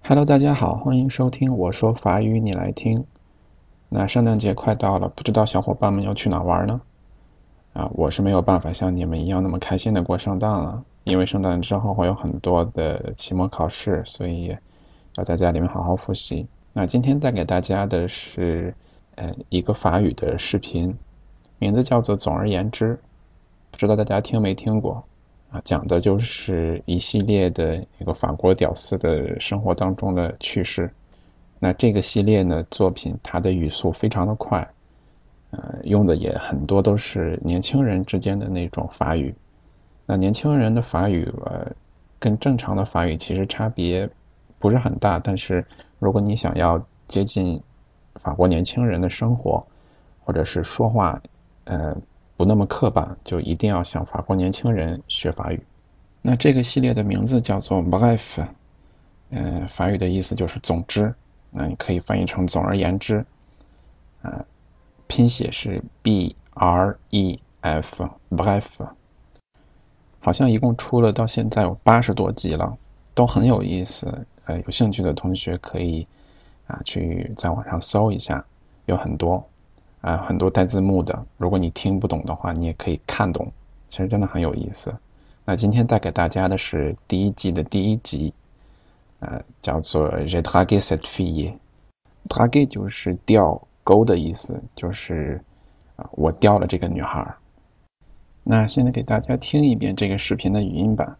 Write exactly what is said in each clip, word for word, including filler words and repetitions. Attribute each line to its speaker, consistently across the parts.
Speaker 1: Hello，大家好，欢迎收听我说法语你来听。那圣诞节快到了，不知道小伙伴们要去哪玩呢？啊，我是没有办法像你们一样那么开心的过圣诞了，因为圣诞之后会有很多的期末考试，所以要在家里面好好复习。那今天带给大家的是呃一个法语的视频，名字叫做总而言之，不知道大家听没听过？啊，讲的就是一系列的一个法国屌丝的生活当中的趣事。那这个系列呢，作品它的语速非常的快，呃，用的也很多都是年轻人之间的那种法语。那年轻人的法语，呃，跟正常的法语其实差别不是很大，但是如果你想要接近法国年轻人的生活，或者是说话，呃。不那么刻板，就一定要向法国年轻人学法语。那这个系列的名字叫做 Bref， 呃，法语的意思就是总之，那你可以翻译成总而言之，呃，拼写是 B R E F Bref。好像一共出了到现在有八十多集了，都很有意思。呃，有兴趣的同学可以啊去在网上搜一下，有很多。啊、呃，很多带字幕的，如果你听不懂的话，你也可以看懂，其实真的很有意思。那今天带给大家的是第一季的第一集，呃，叫做 J'ai dragué cette fille。dragué 就是钓钩的意思，就是啊、呃，我钓了这个女孩。那现在给大家听一遍这个视频的语音版。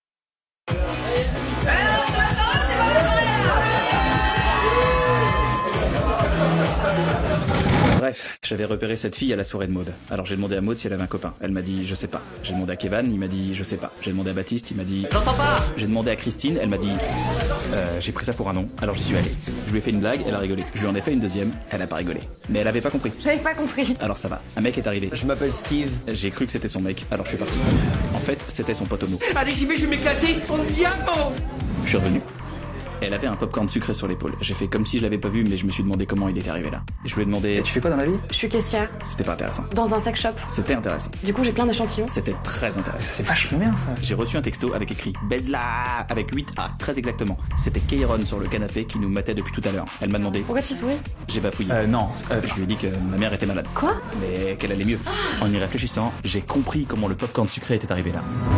Speaker 2: Bref, j'avais repéré cette fille à la soirée de Maud. Alors j'ai demandé à Maud si elle avait un copain. Elle m'a dit je sais pas. J'ai demandé à Kevin, il m'a dit je sais pas. J'ai demandé à Baptiste, il m'a dit j'entends pas. J'ai demandé à Christine, elle m'a dit euh, j'ai pris ça pour un nom. Alors j'y suis allé. Je lui ai fait une blague, elle a rigolé. Je lui en ai fait une deuxième, elle a pas rigolé. Mais elle avait pas compris.
Speaker 3: J'avais pas compris.
Speaker 2: Alors ça va. Un mec est arrivé.
Speaker 4: Je m'appelle Steve.
Speaker 2: J'ai cru que c'était son mec, alors je suis parti. En fait, c'était son pote homo.
Speaker 4: Allez j'y vais, je vais m'éclater. On diamant.
Speaker 2: Je suis revenu. Elle avait un popcorn sucré sur l'épaule. J'ai fait comme si je l'avais pas vu, mais je me suis demandé comment il était arrivé là. Je lui ai demandé tu fais quoi dans la vie?
Speaker 3: Je suis caissière.
Speaker 2: C'était pas intéressant.
Speaker 3: Dans un sex shop.
Speaker 2: C'était intéressant.
Speaker 3: Du coup, j'ai plein d'échantillons.
Speaker 2: C'était très intéressant.
Speaker 4: C'est vachement bien ça.
Speaker 2: J'ai reçu un texto avec écrit baise-la avec huit A, très exactement. C'était Kairon sur le canapé qui nous matait depuis tout à l'heure. Elle m'a demandé.
Speaker 3: Pourquoi tu souris?
Speaker 2: J'ai bafouillé.
Speaker 4: Euh, non. Euh,
Speaker 2: je lui ai dit que ma mère était malade.
Speaker 3: Quoi?
Speaker 2: Mais qu'elle allait mieux. En y réfléchissant, j'ai compris comment le popcorn sucré était arrivé là.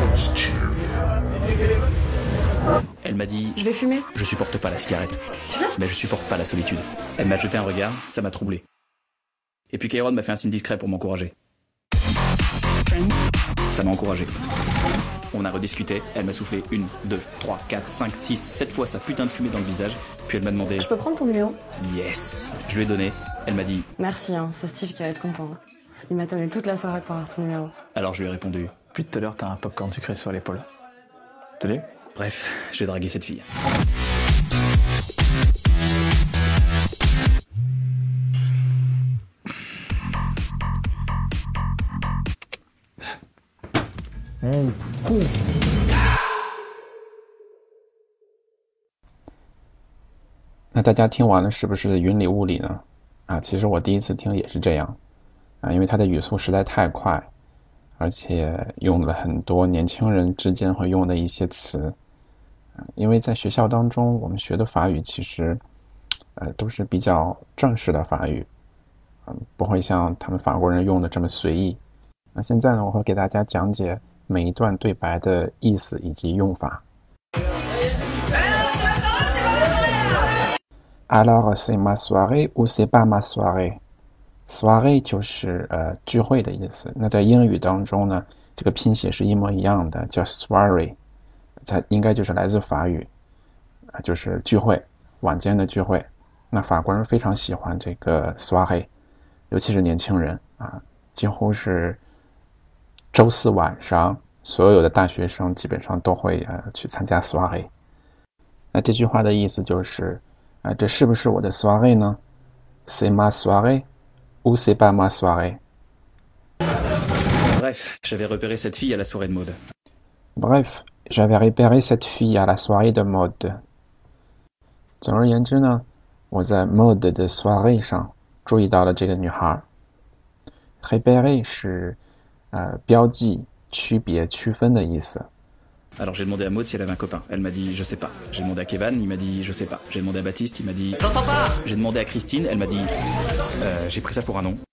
Speaker 2: Elle m'a dit
Speaker 3: Je vais fumer.
Speaker 2: Je supporte pas la cigarette.
Speaker 3: Tu veux?
Speaker 2: Mais je supporte pas la solitude. Elle m'a jeté un regard, ça m'a troublé. Et puis Kairon m'a fait un signe discret pour m'encourager. Ça m'a encouragé. On a rediscuté, elle m'a soufflé une, deux, trois, quatre, cinq, six, sept fois sa putain de fumée dans le visage, puis elle m'a demandé
Speaker 3: Je peux prendre ton numéro?
Speaker 2: Yes. Je lui ai donné, elle m'a dit
Speaker 3: Merci, hein, c'est Steve qui va être content. Il m'attendait toute la soirée pour avoir ton numéro.
Speaker 2: Alors je lui ai répondu.
Speaker 4: Depuis tout à l'heure, t'as un popcorn sucré sur l'épaule. Tenez.
Speaker 2: Bref, j'ai dragué cette fille.
Speaker 4: Mmh.
Speaker 1: 那大家听完了是不是云里雾里呢？啊，其实我第一次听也是这样啊，因为它的语速实在太快，而且用了很多年轻人之间会用的一些词。因为在学校当中我们学的法语其实呃都是比较正式的法语，嗯，不会像他们法国人用的这么随意。那现在呢，我会给大家讲解每一段对白的意思以及用法。Alors c'est ma soirée ou c'est pas ma soirée？ soirée 就是呃聚会的意思。那在英语当中呢，这个拼写是一模一样的，叫 soirée。它应该就是来自法语，就是聚会，晚间的聚会。那法国人非常喜欢这个 soirée， 尤其是年轻人啊，几乎是周四晚上，所有的大学生基本上都会呃去参加 soirée。那这句话的意思就是啊、呃，这是不是我的 soirée 呢？ C'est ma soirée ou c'est pas ma soirée？
Speaker 2: Bref, j'avais repéré cette fille à la soirée de Maud.
Speaker 1: Bref.J'avais repéré cette fille à la soirée de Maud. 总而言之呢，我在 Maud 的 soirée 上注意到了这个女孩。repérer 是呃标记、区别、区分的意思。
Speaker 2: Alors j'ai demandé à Maud si elle avait un copain. Elle m'a dit je sais pas. J'ai demandé à Kevin, il m'a dit je sais pas. J'ai demandé à Baptiste, il m'a dit j'entends pas. J'ai demandé à Christine, elle m'a dit euh, j'ai pris ça pour un nom.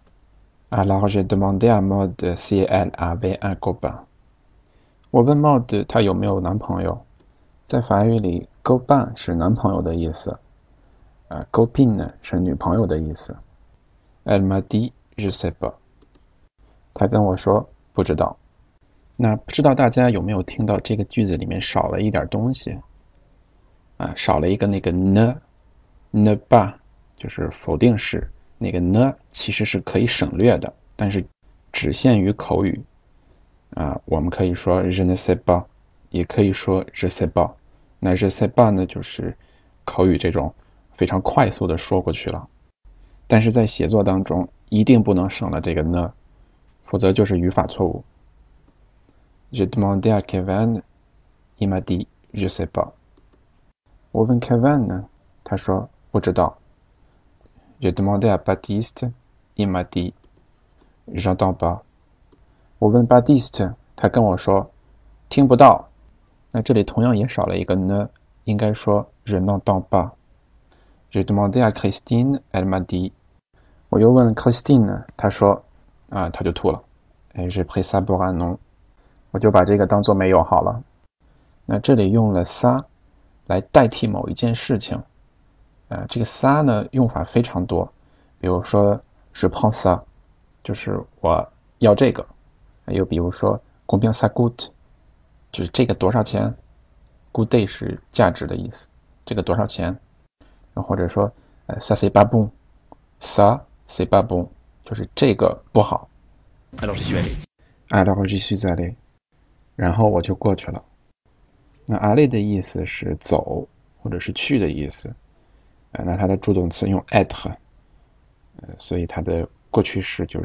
Speaker 1: Alors j'ai demandé à Maud si elle avait un copain。我问 Maud 她有没有男朋友。在法语里 copain 是男朋友的意思，呃 copine 呢是女朋友的意思。Elle m'a dit je sais pas。她跟我说不知道。那不知道大家有没有听到这个句子里面少了一点东西啊，少了一个那个 ne ne pas 就是否定式，那个 ne 其实是可以省略的，但是只限于口语啊。我们可以说 je ne sais pas， 也可以说 je sais pas。那 je sais pas 呢就是口语这种非常快速的说过去了，但是在写作当中一定不能省了这个 ne， 否则就是语法错误。J'ai demandé à Kevin, il m'a dit je sais pas。 我问 Kevin 呢，他说不知道。J'ai demandé à Baptiste, il m'a dit j'entends pas。 我问 Baptiste， 他跟我说听不到。那这里同样也少了一个呢，应该说 je n'entends pas。 J'ai demandé à Christine, elle m'a dit。 我又问 Christine 呢，她说啊，她就吐了。J'ai pris ça pour un nom。我就把这个当作没有好了。那这里用了 ça 来代替某一件事情，呃，这个 ça 呢用法非常多，比如说 je prends ça 就是我要这个，又比如说 combien ça coûte 就是这个多少钱， coûter 是价值的意思，这个多少钱，或者说呃 ça c'est pas bon， ça c'est pas bon 就是这个不好。
Speaker 2: Alors j'y suis allé.
Speaker 1: Alors j'y suis allé。然后我就过去了。那 aller 的意思是走或者是去的意思，呃、那它的助动词用 être，呃、所以它的过去式就是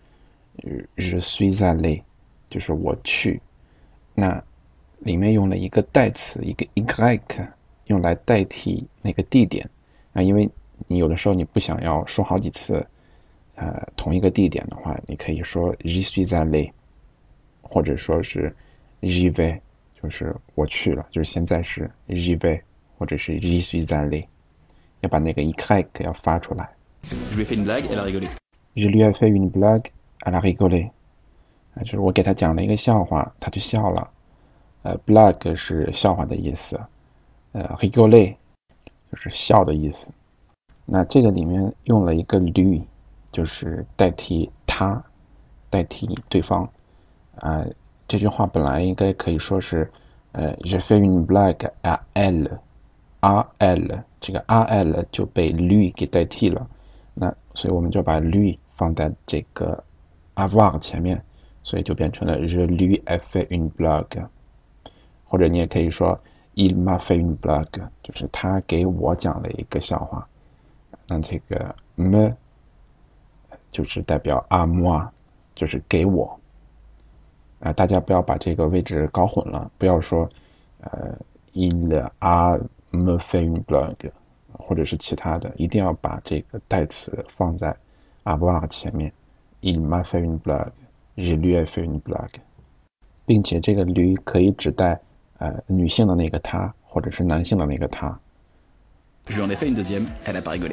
Speaker 1: je suis allé， 就是我去。那里面用了一个代词一个 y 用来代替那个地点，那因为你有的时候你不想要说好几次呃，同一个地点的话，你可以说 j'y suis allé， 或者说是j'y vais， 就是我去了，就是现在是 j'y vais， 或者是 j'y suis allé， 要把那个 y 要发出来。
Speaker 2: Je lui ai fait une blague, elle a rigolé.
Speaker 1: Je lui ai fait une blague, elle a rigolé。 就是我给他讲了一个笑话，他就笑了。呃 blague 是笑话的意思，呃 rigoler 就是笑的意思。那这个里面用了一个 lui， 就是代替他，代替对方。呃这句话本来应该可以说是呃 je fais une blague à elle， à elle， 这个 à elle 就被 lui 给代替了，那所以我们就把 lui 放在这个 avoir 前面，所以就变成了 je lui ai fait une blague， 或者你也可以说 il m'a fait une blague， 就是他给我讲了一个笑话。那这个 me 就是代表 à moi， 就是给我。呃、大家不要把这个位置搞混了，不要说呃 il a me fait une blague 或者是其他的，一定要把这个代词放在 avoir 前面。 il m'a fait une blague， je lui ai fait une blague， 并且这个 lui 可以指代呃女性的那个她，或者是男性的那个他。
Speaker 2: Je lui en ai fait une deuxième, elle a pas rigolé.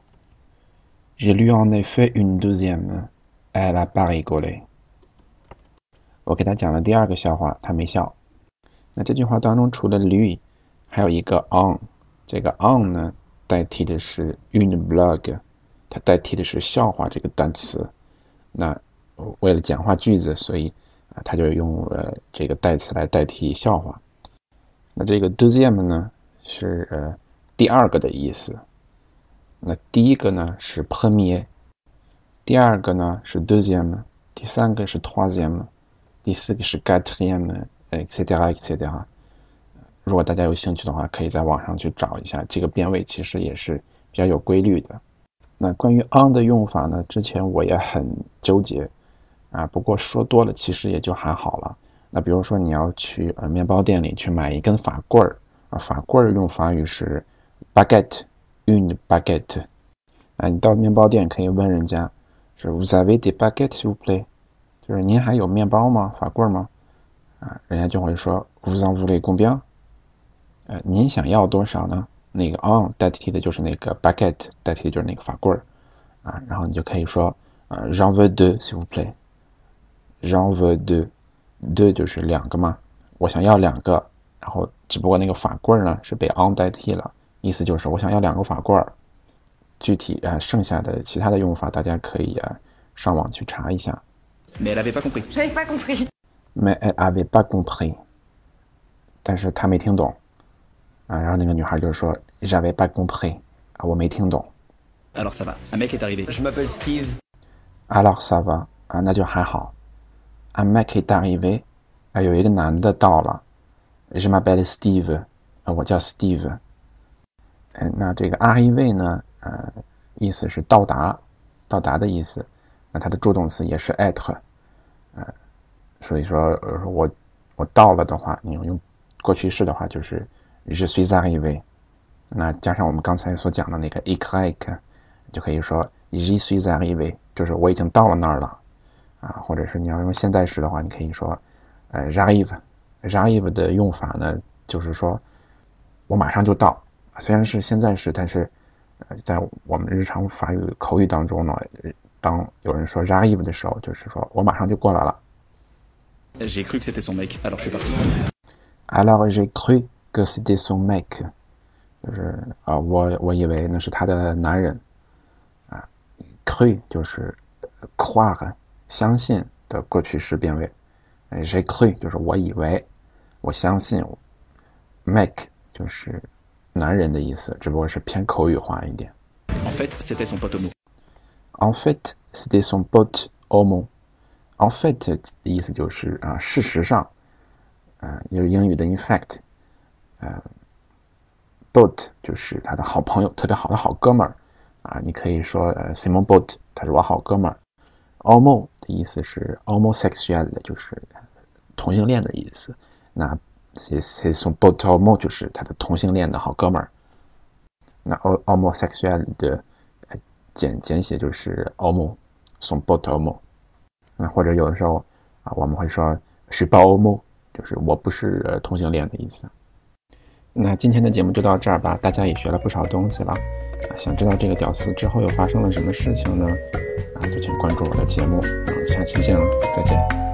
Speaker 1: Je lui en ai fait une deuxième, elle a pas rigolé。我给他讲了第二个笑话，他没笑。那这句话当中除了 lui 还有一个 on， 这个 on 呢代替的是 une blague， 它代替的是笑话这个单词。那为了简化句子，所以啊，他就用了这个代词来代替笑话。那这个 deuxième 呢是呃第二个的意思。那第一个呢是 premier， 第二个呢是 deuxième， 第三个是 troisième，第四个是 quatrième et cetera et cetera。 如果大家有兴趣的话，可以在网上去找一下，这个变位其实也是比较有规律的。那关于 on 的用法呢，之前我也很纠结啊，不过说多了其实也就还好了。那比如说你要去呃面包店里去买一根法棍儿啊，法棍儿用法语是 baguette， une baguette。 啊，你到面包店可以问人家是 vous avez des baguettes s'il vous plaît，就是您还有面包吗？法棍吗？啊，人家就会说 vous en voulez combien？ 呃，您想要多少呢？那个 on 代替的就是那个 baguette， 代替的就是那个法棍儿啊，然后你就可以说呃 j'en veux deux s'il vous plaît。j'en veux deux， deux 就是两个嘛，我想要两个，然后只不过那个法棍儿呢是被 on 代替了，意思就是我想要两个法棍儿。具体啊、呃、剩下的其他的用法大家可以啊上网去查一下。
Speaker 2: Mais elle avait pas compris.
Speaker 3: J'avais pas compris.
Speaker 1: Mais elle avait pas compris。但是她没听懂啊，然后那个女孩就说 j'avais pas compris 啊，我没听懂。
Speaker 2: Alors ça va, un mec est arrivé.
Speaker 4: Je m'appelle Steve.
Speaker 1: Alors ça va 啊，那就还好。Un mec est arrivé 啊，有一个男的到了。Je m'appelle Steve 啊，我叫 Steve。嗯，那这个 arrivé 呢，呃，意思是到达，到达的意思。那它的助动词也是 être， 呃，所以说，呃，我我到了的话，你用过去式的话就是 je suis arrivé。那加上我们刚才所讲的那个 écrit， 就可以说 j'y suis arrivé， 就是我已经到了那儿了啊。或者是你要用现在时的话，你可以说呃 j'arrive。j'arrive 的用法呢，就是说我马上就到。虽然是现在时，但是呃，在我们日常法语口语当中呢，当有人说 j'arrive 的时候，就是说我马上就过来了。
Speaker 2: J'ai cru que c'était son mec, alors je suis parti.
Speaker 1: Alors j'ai cru que c'était son mec， 就是啊、呃，我我以为那是他的男人啊。cru 就是 croire 相信的过去式变位。j'ai cru 就是我以为，我相信。mec 就是男人的意思，只不过是偏口语化一点。
Speaker 2: En fait, c'était son pote homo.
Speaker 1: En fait, c'était son pote homo. En fait 的意思就是啊，事实上，呃，也是英语的 in fact， 呃 ，pote 就是他的好朋友，特别好的好哥们儿啊，你可以说呃 c'est mon pote， 他是我好哥们儿。homo 的意思是 homosexual， 就是同性恋的意思。那c'est son pote homo 就是他的同性恋的好哥们儿。那 homosexual 的简简写就是 homo， son pote homo。那或者有的时候啊，我们会说 je suis pas homo， 就是我不是、呃、同性恋的意思。那今天的节目就到这儿吧，大家也学了不少东西了。啊，想知道这个屌丝之后又发生了什么事情呢？啊，就请关注我的节目。那我们下期见了，再见。